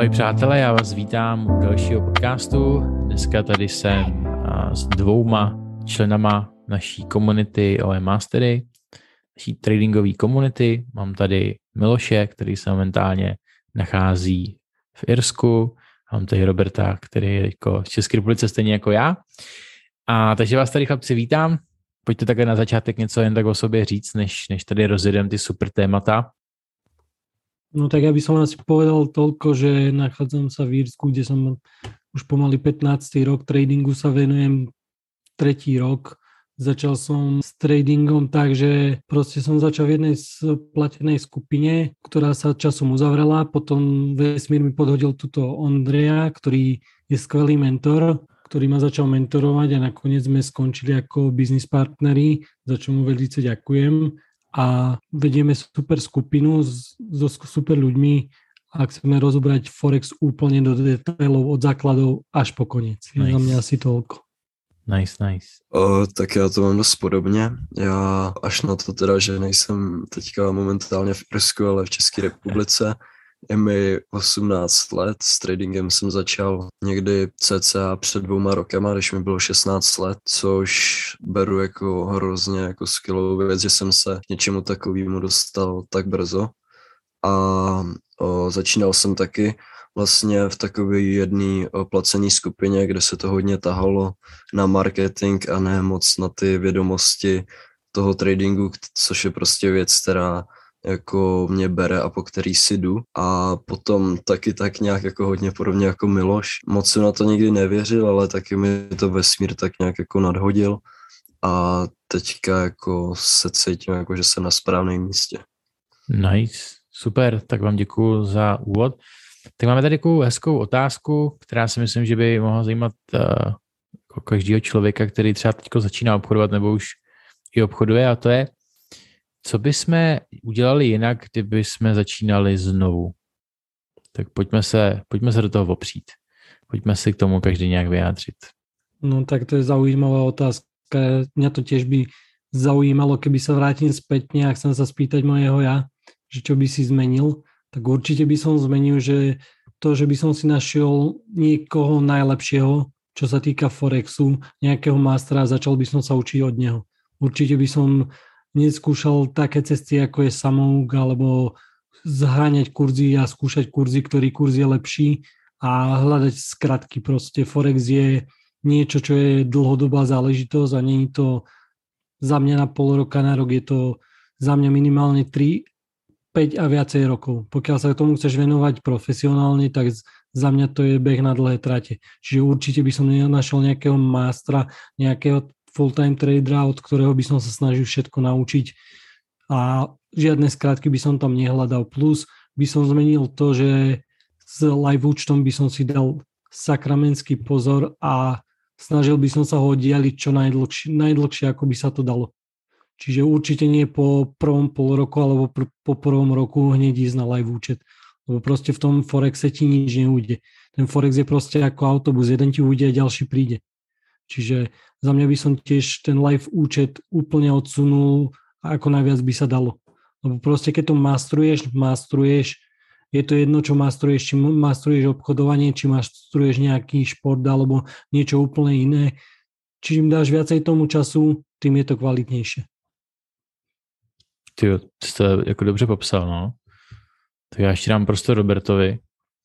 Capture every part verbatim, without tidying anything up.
Ahoj přátelé, já vás vítám u dalšího podcastu. Dneska tady jsem s dvouma členama naší komunity O M Mastery, naší tradingové komunity. Mám tady Miloše, který se momentálně nachází v Irsku. Mám tady Roberta, který je jako z České republice stejně jako já. A takže vás tady chlapci vítám. Pojďte také na začátek něco jen tak o sobě říct, než, než tady rozjedem ty super témata. No tak ja by som asi povedal toľko, že nachádzam sa v Írsku, kde som už pomaly pätnásty rok, tradingu sa venujem tretí rok. Začal som s tradingom tak, že proste som začal v jednej platenej skupine, ktorá sa časom uzavrela, potom vesmír mi podhodil tuto Ondreja, ktorý je skvelý mentor, ktorý ma začal mentorovať a nakoniec sme skončili ako business partneri, za čo mu veľmi ďakujem. A vedieme super skupinu so super ľuďmi a chceme rozobrať Forex úplne do detailov od základov až po koniec. Nice. Za mňa asi toľko. Nice, nice. O, tak já to mám dost podobně. Já až na to teda, že nejsem teďka momentálně v Irsku, ale v České republice. Je mi osmnáct let, s tradingem jsem začal někdy cca před dvouma rokama, když mi bylo šestnáct let, což beru jako hrozně jako skvělou věc, že jsem se k něčemu takovému dostal tak brzo. A o, začínal jsem taky vlastně v takové jedné placené skupině, kde se to hodně tahalo na marketing a ne moc na ty vědomosti toho tradingu, což je prostě věc, která jako mě bere a po který si jdu. A potom taky tak nějak jako hodně podobně jako Miloš. Moc jsem na to nikdy nevěřil, ale taky mi to vesmír tak nějak jako nadhodil a teďka jako se cítím jako, že jsem na správném místě. Nice, super, tak vám děkuju za úvod. Tak máme tady takovou hezkou otázku, která si myslím, že by mohla zajímat uh, každého člověka, který třeba teď začíná obchodovat nebo už i obchoduje, a to je, co bychom udělali jinak, kdyby jsme začínali znovu? Tak pojďme se, pojďme se do toho opřít. Pojďme si k tomu každý nějak vyjádřit. No tak to je zaujímavá otázka. Mňa to tiež by zaujímalo, keby sa vrátim spätne a chcem sa spýtať mojeho ja, že čo by si zmenil, tak určite by som zmenil, že to, že by som si našiel niekoho najlepšieho, čo sa týka Forexu, nejakého mastera a začal by som sa učiť od neho. Určite by som neskúšal také cesty, ako je samouk, alebo zháňať kurzy a skúšať kurzy, ktorý kurz je lepší a hľadať skratky. Proste Forex je niečo, čo je dlhodobá záležitosť a nie je to za mňa na pol roka, na rok, je to za mňa minimálne tri, päť a viacej rokov. Pokiaľ sa tomu chceš venovať profesionálne, tak za mňa to je beh na dlhé trate. Čiže určite by som našiel nejakého mástra, nejakého full-time tradera, od ktorého by som sa snažil všetko naučiť a žiadne skratky by som tam nehľadal. Plus by som zmenil to, že s live účtom by som si dal sakramenský pozor a snažil by som sa ho oddialiť čo najdlhšie, najdlhšie, ako by sa to dalo. Čiže určite nie po prvom pol roku alebo pr- po prvom roku hneď ísť na live účet. Lebo proste v tom Forexe ti nič neujde. Ten Forex je proste ako autobus, jeden ti ujde a ďalší príde. Čiže za mňa by som tiež ten live účet úplne odsunul, ako najviac by sa dalo. Lebo proste keď to mastruješ, mastruješ, je to jedno, čo mastruješ, či mastruješ obchodovanie, či mastruješ nejaký šport alebo niečo úplne iné. Čím dáš viacej tomu času, tým je to kvalitnejšie. Ty jsi to jako dobře popsal, no. Tak já ještě dám prostor Robertovi.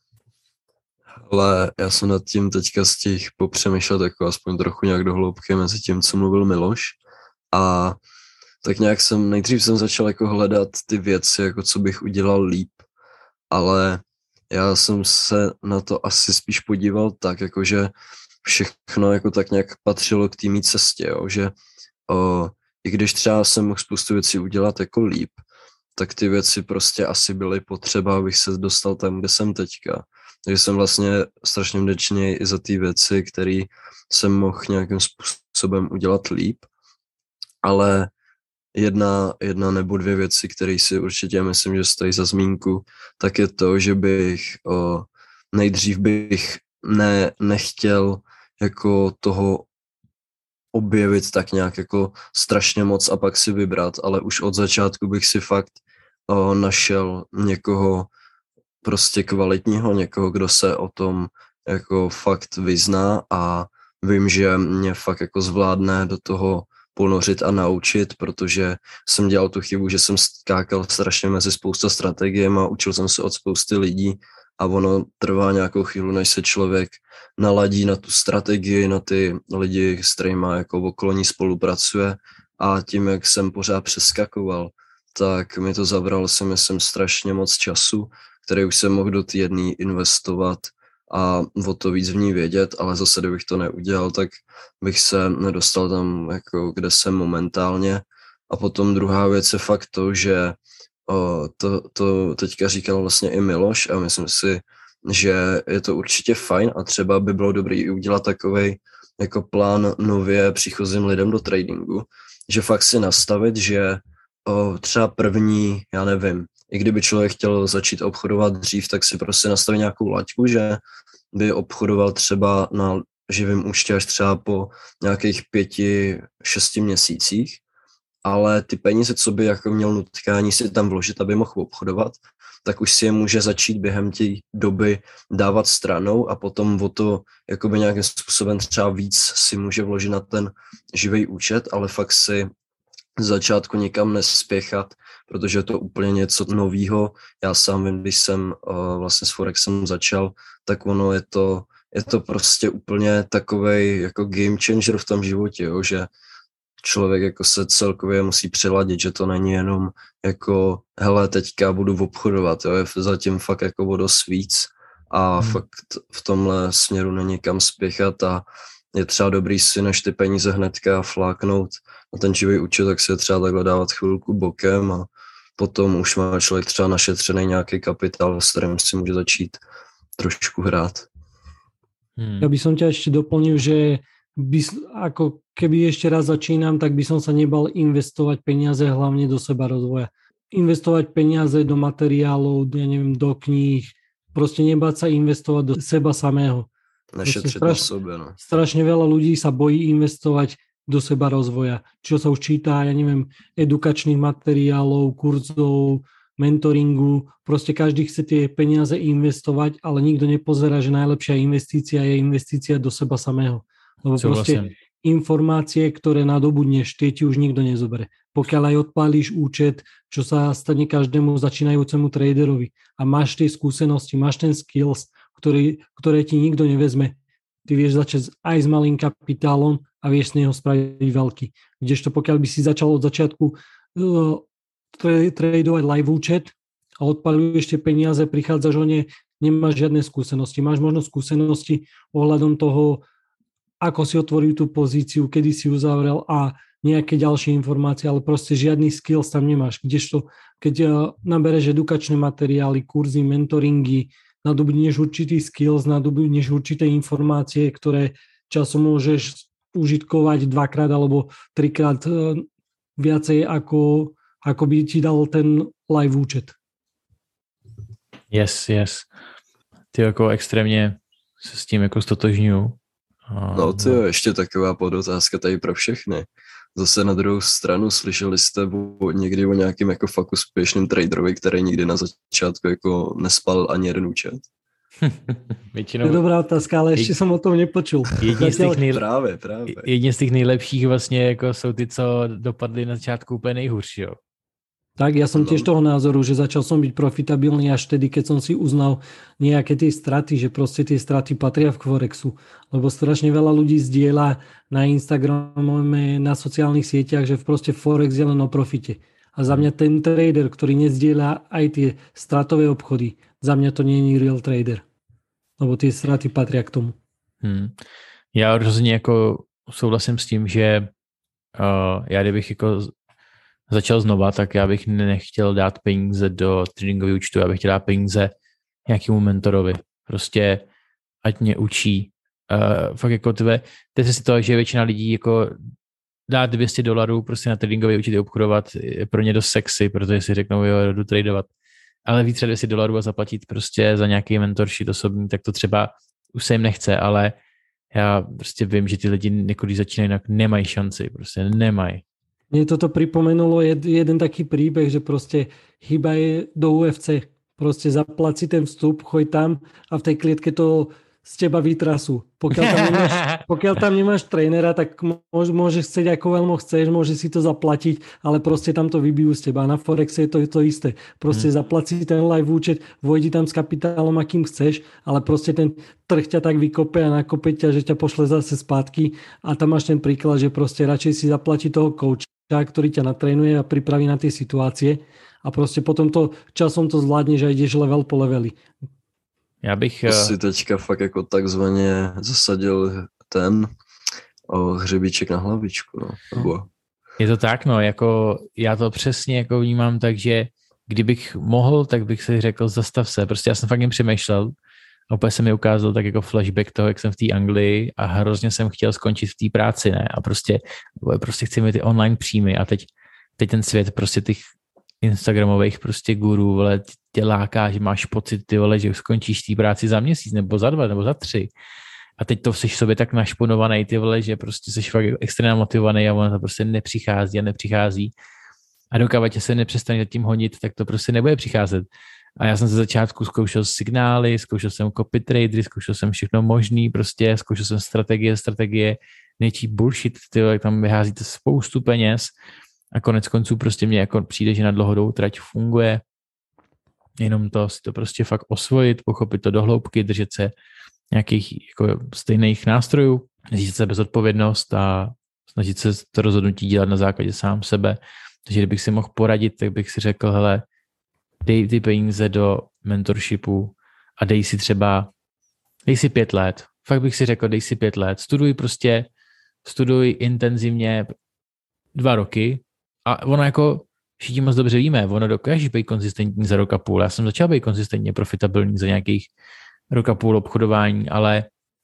Ale já jsem nad tím teďka stihl popřemýšlet jako aspoň trochu nějak do hloubky mezi tím, co mluvil Miloš. A tak nějak jsem, nejdřív jsem začal jako hledat ty věci, jako co bych udělal líp. Ale já jsem se na to asi spíš podíval tak, jakože všechno jako tak nějak patřilo k té mý cestě, jo? Že o, i když třeba jsem mohl spoustu věcí udělat jako líp, tak ty věci prostě asi byly potřeba, abych se dostal tam, kde jsem teďka. Takže jsem vlastně strašně vděčný i za ty věci, které jsem mohl nějakým způsobem udělat líp. Ale jedna, jedna nebo dvě věci, které si určitě myslím, že stojí za zmínku, tak je to, že bych o, nejdřív bych ne, nechtěl jako toho objevit tak nějak jako strašně moc a pak si vybrat, ale už od začátku bych si fakt o, našel někoho prostě kvalitního, někoho, kdo se o tom jako fakt vyzná a vím, že mě fakt jako zvládne do toho ponořit a naučit, protože jsem dělal tu chybu, že jsem skákal strašně mezi spousta strategiemi a učil jsem se od spousty lidí a ono trvá nějakou chvíli, než se člověk naladí na tu strategii, na ty lidi, s kterými jako okolo ní spolupracuje a tím, jak jsem pořád přeskakoval, tak mi to zabralo si myslím strašně moc času, který už jsem mohl do té jedné investovat a o to víc v ní vědět, ale zase, kdybych to neudělal, tak bych se nedostal tam, jako kde jsem momentálně. A potom druhá věc je fakt to, že o, to, to teďka říkal vlastně i Miloš a myslím si, že je to určitě fajn a třeba by bylo dobré i udělat takovej jako plán nově příchozím lidem do tradingu, že fakt si nastavit, že o, třeba první, já nevím, i kdyby člověk chtěl začít obchodovat dřív, tak si prostě nastaví nějakou laťku, že by obchodoval třeba na živém účtě až třeba po nějakých pěti, šesti měsících, ale ty peníze, co by jako měl nutkání si tam vložit, aby mohl obchodovat, tak už si je může začít během té doby dávat stranou a potom o to jakoby nějakým způsobem třeba víc si může vložit na ten živý účet, ale fakt si z začátku nikam nespěchat, protože je to úplně něco novýho. Já sám vím, když jsem uh, vlastně s Forexem začal, tak ono je to, je to prostě úplně takovej jako game changer v tom životě, jo, že člověk jako se celkově musí přiladit, že to není jenom jako hele, teďka budu obchodovat, jo, je zatím fakt jako o dost víc a hmm. fakt v tomhle směru není kam spěchat a je třeba dobrý si než ty peníze hnedka fláknout na ten živý účet, tak si je třeba takhle dávat chvilku bokem a potom už má člověk třeba našetřený nějaký kapitál, s kterým si může začít trošku hrát. Hmm. Ja by som ťa ešte doplnil, že by, ako keby ešte raz začínam, tak by som sa nebal investovať peniaze hlavne do seba rozvoja. Investovať peniaze do materiálov, ja neviem, do kníh, proste nebáť sa investovať do seba samého. Našetřit na sebe, no. Strašne veľa ľudí sa bojí investovať do seba rozvoja. Čo sa už číta, ja neviem, edukačných materiálov, kurzov, mentoringu, proste každý chce tie peniaze investovať, ale nikto nepozerá, že najlepšia investícia je investícia do seba samého. Lebo Co proste vlastne? Informácie, ktoré nadobudneš, tie ti už nikto nezobere. Pokiaľ aj odpálíš účet, čo sa stane každému začínajúcemu traderovi a máš tie skúsenosti, máš ten skills, ktorý, ktoré ti nikto nevezme, ty vieš začať aj s malým kapitálom a vieš z neho spraviť veľký. Kdežto pokiaľ by si začal od začiatku uh, tradovať live účet a odpaľuješ tie peniaze, prichádzaš o ne, nemáš žiadne skúsenosti. Máš možno skúsenosti ohľadom toho, ako si otvoril tú pozíciu, kedy si uzavrel a nejaké ďalšie informácie, ale proste žiadny skills tam nemáš. Kdežto, keď nabereš edukačné materiály, kurzy, mentoringy, nadobudneš určitý skills, nadobudneš určité informácie, ktoré časom môžeš užitkovať dvakrát alebo trikrát viacej ako ako by ti dal ten live účet. Yes, yes. Ty jako extrémně se s tím jako stotožňuju. No ty jo, ještě taková podotázka tady pro všechny. Zase na druhou stranu slyšeli jste o, někdy o nějakým jako fakt úspěšným traderovi, který nikdy na začátku jako nespal ani jeden účet? Většinou... To je dobrá otázka, ale ještě jsem o tom nepočul. Jedni z těch, nej... právě, právě. Jedni z těch nejlepších vlastně jako jsou ty, co dopadli na začátku úplně nejhůř, jo. Tak, ja som tiež toho názoru, že začal som byť profitabilný až vtedy, keď som si uznal nejaké tie straty, že proste tie straty patria v Forexu. Lebo strašne veľa ľudí zdieľa na Instagrame, na sociálnych sieťach, že proste Forex je len o profite. A za mňa ten trader, ktorý nezdieľa aj tie stratové obchody, za mňa to nie je real trader. Lebo tie straty patria k tomu. Hmm. Já rozhodně jako souhlasím s tím, že uh, já kdybych jako začal znova, tak já bych nechtěl dát peníze do tradingového účtu, já bych chtěl dát peníze nějakému mentorovi. Prostě ať mě učí. Uh, fakt jako tvé, teď si to, že většina lidí jako dát dvě stě dolarů prostě na tradingový účet obchodovat je pro ně dost sexy, protože si řeknou, jo, jdu tradovat. Ale víc dvě stě dolarů a zaplatit prostě za nějaký mentorship osobní, tak to třeba už se jim nechce, ale já prostě vím, že ty lidi, když začínají, jinak nemají šanci, prostě nemají. Mne toto pripomenulo jed, jeden taký príbeh, že proste chyba je do ú ef cé. Proste zaplať si ten vstup, choď tam a v tej klietke to z teba vytrasú. Pokiaľ tam nemáš, pokiaľ tam nemáš trénera, tak môže, môžeš chcieť ako veľmi chceš, môžeš si to zaplatiť, ale proste tam to vybijú z teba. Na Forexe je to, to isté. Proste hmm. zaplať si ten live účet, vojdi tam s kapitálom, akým chceš, ale proste ten trh ťa tak vykope a nakope ťa, že ťa pošle zase spátky a tam máš ten príklad, že proste radšej si zaplatí toho kouča, ktorý ťa natrénuje a pripraví na tie situácie a proste potom to časom to zvládneš a ideš level po leveli. Já bych... To si teďka fakt jako takzvaně zasadil ten o, hřebíček na hlavičku. No. Nebo... Je to tak, no, jako já to přesně jako vnímám tak, že kdybych mohl, tak bych si řekl, zastav se. Prostě já jsem fakt jen přemýšlel a úplně se mi ukázal tak jako flashback toho, jak jsem v té Anglii a hrozně jsem chtěl skončit v té práci, ne? A prostě, prostě chci mít ty online příjmy a teď, teď ten svět prostě těch instagramových prostě gurů, vole, tě láká, že máš pocit, ty vole, že skončíš té práci za měsíc, nebo za dva, nebo za tři. A teď to jsi sobě tak našponovaný, ty vole, že prostě jsi fakt extrémně motivovaný a ono to prostě nepřichází a nepřichází. A dokud tě se nepřestane tím honit, tak to prostě nebude přicházet. A já jsem ze začátku zkoušel signály, zkoušel jsem copy tradery, zkoušel jsem všechno možný, prostě zkoušel jsem strategie, strategie, něčí bullshit, ty vole, tam vyházíte spoustu peněz. A konec konců prostě mě jako přijde, že na dlouhodobou trať funguje. Jenom to si to prostě fakt osvojit, pochopit to do hloubky, držet se nějakých jako stejných nástrojů, snažit se bezodpovědnost a snažit se to rozhodnutí dělat na základě sám sebe. Takže kdybych si mohl poradit, tak bych si řekl, hele, dej ty peníze do mentorshipu a dej si třeba, dej si pět let. Fakt bych si řekl, dej si pět let. Studuj prostě, studuj intenzivně dva roky, a ono jako všichni moc dobře víme, ono dokáže být konzistentní za rok a půl. Já jsem začal být konzistentně profitabilní za nějakých rok a půl obchodování, ale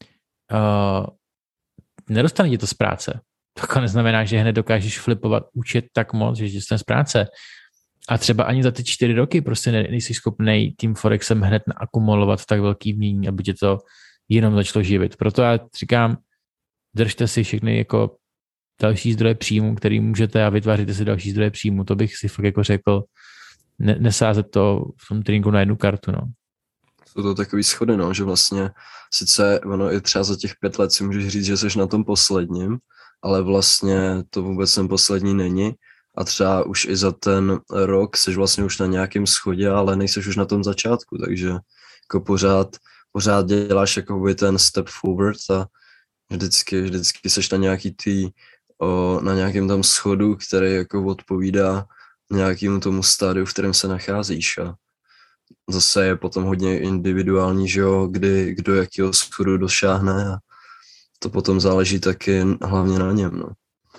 uh, nedostane tě to z práce. To neznamená, že hned dokážeš flipovat účet tak moc, že jsi z práce. A třeba ani za ty čtyři roky prostě nejsi schopnej tím Forexem hned naakumulovat tak velký mění, aby tě to jenom začalo živit. Proto já říkám, držte si všechny jako další zdroje příjmu, který můžete a vytváříte si další zdroje příjmu. To bych si fakt jako řekl, ne, nesázet to v tom tréninku na jednu kartu. No. Jsou to takový schody, no, že vlastně sice ono i třeba za těch pět let si můžeš říct, že jsi na tom posledním, ale vlastně to vůbec ten poslední není a třeba už i za ten rok jsi vlastně už na nějakém schodě, ale nejseš už na tom začátku, takže jako pořád, pořád děláš jakoby ten step forward a vždycky, vždycky seš na nějaký tý O, na nějakém tam schodu, který jako odpovídá nějakému tomu stádiu, v kterém se nacházíš a zase je potom hodně individuální, že jo, kdy, kdo jakého schodu dosáhne a to potom záleží taky hlavně na něm, no.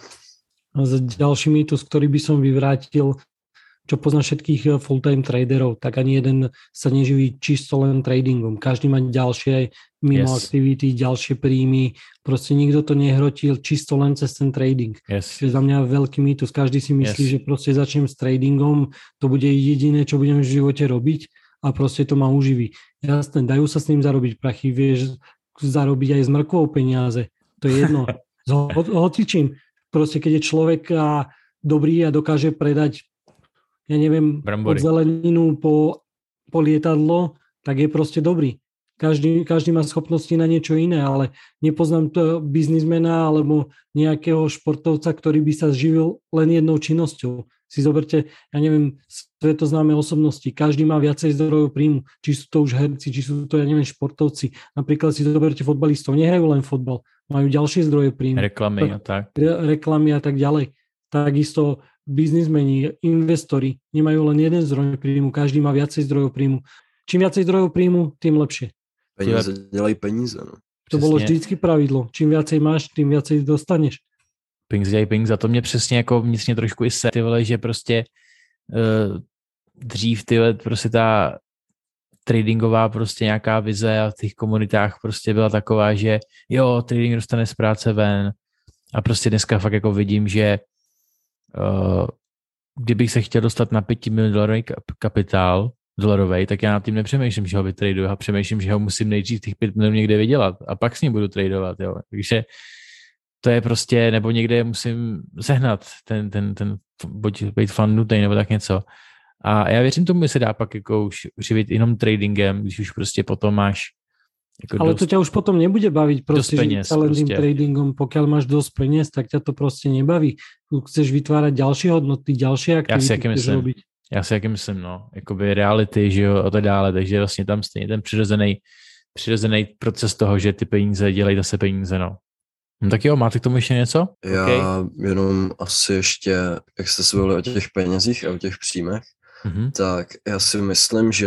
A za ďalší mýtus, ktorý by som vyvrátil, čo pozná všetkých full-time traderov, tak ani jeden sa neživí čisto len tradingom. Každý má ďalšie mimo yes. aktivity, ďalšie príjmy. Proste nikto to nehrotil čisto len cez ten trading. Yes. To je za mňa veľký mýtus. Každý si myslí, yes. že proste začnem s tradingom, to bude jediné, čo budem v živote robiť a proste to ma uživí. Jasné, dajú sa s ním zarobiť prachy, vieš zarobiť aj s mrkvou peniaze. To je jedno. S hocičím. Proste keď je človek a dobrý a dokáže predať ja neviem, Brambory. Od zeleninu po, po lietadlo, tak je proste dobrý. Každý, každý má schopnosti na niečo iné, ale nepoznám to biznismena alebo nejakého športovca, ktorý by sa živil len jednou činnosťou. Si zoberte, ja neviem, svetoznáme osobnosti. Každý má viacej zdrojov príjmu. Či sú to už herci, či sú to, ja neviem, športovci. Napríklad si zoberte fotbalistov. Nehrajú len fotbal. Majú ďalšie zdroje príjmu. Reklamy a tak. Re, reklamy a tak ďalej. Takisto biznismeni, investori nemajú len jeden zdroj príjmu. Každý má viacej zdrojov príjmu. Čím viacej zdrojov príjmu, tým lepšie. Peníze dělají peníze. No. To bylo vždycky pravidlo. Čím viacej máš, tím viacej dostaneš. Peníze dělají peníze. A to mě přesně jako vnitřně trošku i se, ty vole, že prostě uh, dřív ty vole, prostě ta tradingová prostě nějaká vize a v těch komunitách prostě byla taková, že jo, trading dostane z práce ven. A prostě dneska fakt jako vidím, že uh, kdybych se chtěl dostat na pěti milionů dolarový kapitál, dolarovej, tak já nad tím nepřemýšlím, že ho vytraduju a přemýšlím, že ho musím nejdřív těch pět milionů někde vydělat a pak s ním budu tradovat, jo. Takže to je prostě, nebo někde musím sehnat ten, ten, ten buď být fan nutnej, nebo tak něco. A já věřím tomu, že se dá pak jako už živit jenom tradingem, když už prostě potom máš jako ale dost, to ťa už potom nebude baviť proste žiť sa len tým prostě. tradingom. Pokiaľ máš dosť peniaz, tak ťa to proste nebaví. Chceš vytvárať ďalšie hodnoty, ďalšie aktivity, chceš robiť. Já si jaký myslím, no, jakoby reality, že jo, a tak dále, takže vlastně tam stejně ten přirozený, přirozený proces toho, že ty peníze dělají zase peníze, no. No tak jo, máte k tomu ještě něco? Já okay. jenom asi ještě, jak jste se bavili o těch penězích a o těch příjmech, mm-hmm. tak já si myslím, že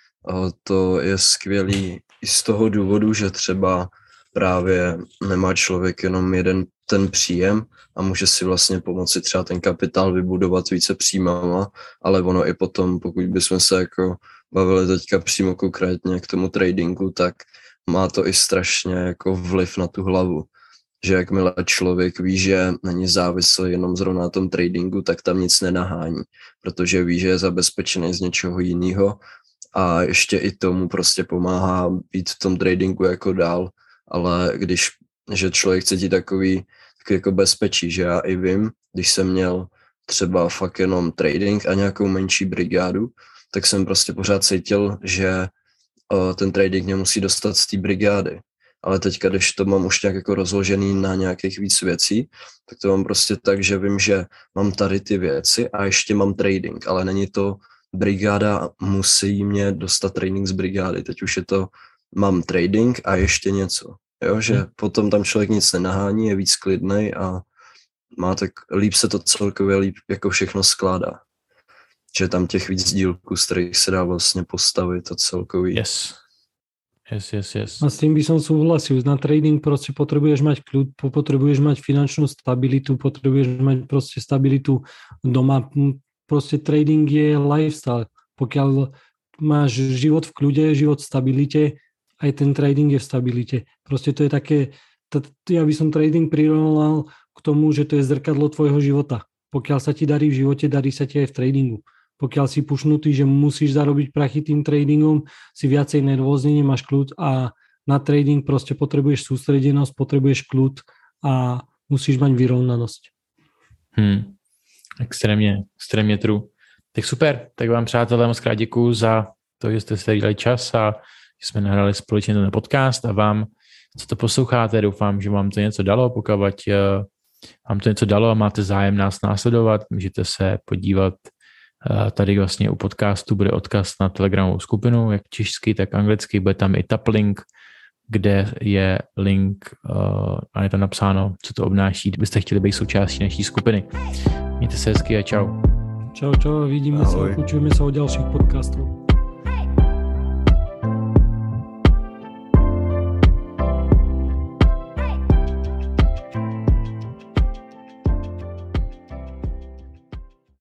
to je skvělý i z toho důvodu, že třeba právě nemá člověk jenom jeden ten příjem a může si vlastně pomoci třeba ten kapitál vybudovat více příjmama, ale ono i potom, pokud bychom se jako bavili teďka přímo konkrétně k tomu tradingu, tak má to i strašně jako vliv na tu hlavu. Že jakmile člověk ví, že není závislý jenom zrovna na tom tradingu, tak tam nic nenahání, protože ví, že je zabezpečený z něčeho jiného a ještě i tomu prostě pomáhá být v tom tradingu jako dál, ale když, že člověk cítí takový, takový jako bezpečí, že já i vím, když jsem měl třeba fakt jenom trading a nějakou menší brigádu, tak jsem prostě pořád cítil, že o, ten trading mě musí dostat z té brigády. Ale teďka, když to mám už nějak jako rozložený na nějakých víc věcí, tak to mám prostě tak, že vím, že mám tady ty věci a ještě mám trading, ale není to brigáda, musí mě dostat trading z brigády. Teď už je to, mám trading a ještě něco. Jo, že hmm. potom tam člověk nic nenahání, je víc klidnej a má tak, líp se to celkově líp jako všechno skládá. Že tam těch víc dílků, z kterých se dá vlastně postavit a celkový. Yes. Yes, yes, yes. A s tým by som súhlasil. Na trading proste potrebuješ mať kľud, potrebuješ mať finančnú stabilitu, potrebuješ mať proste stabilitu doma. Proste trading je lifestyle. Pokiaľ máš život v kľude, život v stabilite, aj ten trading je v stabilite. Proste to je také, ja by som trading prirovnal k tomu, že to je zrkadlo tvojho života. Pokiaľ sa ti darí v živote, darí sa ti aj v tradingu. Pokiaľ si pušnutý, že musíš zarobiť prachy tým tradingom, si viacej nervózny, nemáš kľud a na trading proste potrebuješ sústredenosť, potrebuješ kľud a musíš mať vyrovnanosť. Hmm. Extrémně, extrémně true. Tak super, tak vám přátelé moc krát děkuju za to, že jste si dali čas a že jsme nahrali společně ten podcast a vám, co to posloucháte, doufám, že vám to něco dalo, pokud vám to něco dalo a máte zájem nás následovat, můžete se podívat. Tady vlastně u podcastu bude odkaz na telegramovou skupinu, jak česky, tak anglicky, bude tam i taplink, kde je link uh, a je tam napsáno, co to obnáší, kdybyste chtěli být součástí naší skupiny. Mějte se hezky a čau. Čau, čau, vidíme Ahoj. Sa, počujeme sa o ďalších podcastov.